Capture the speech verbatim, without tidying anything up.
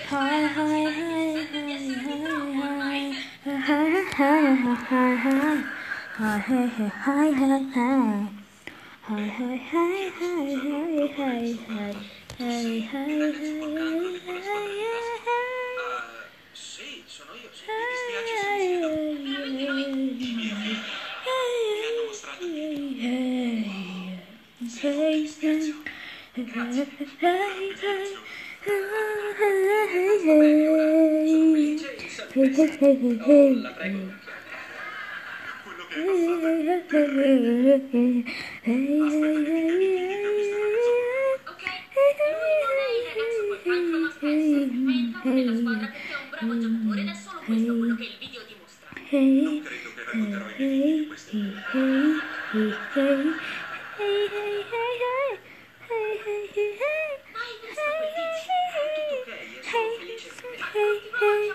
Hi, hi, hi, hi, hi, hi, hi, hi, hi. Hi, hi, hi, hi, hi, hi. Hi, hi, hi, hi, hi, hi, hi. Hi, hi, hi, hi, Sì, sono io, sì. Mi dispiace se mi siedo. I miei amici mi hanno mostrato il video. Sento che ti spiazzo. Grazie. Mi spiazzo. Sto bene ora. Sono Willy James. Oh, la prego, cacchiare. Quello che è passato è terribile. Aspetta che ti arrivi i dettagli stanotte. Ok, lui non è il ragazzo col cancro ma spesso è entrato nella squadra perché è un bravo giocatore ed è solo questo quello che il video dimostra. Non credo che racconterò ai miei figli di questo. Ma hai visto quel video? È tutto ok, è solo felice. Mi racconti, mamma?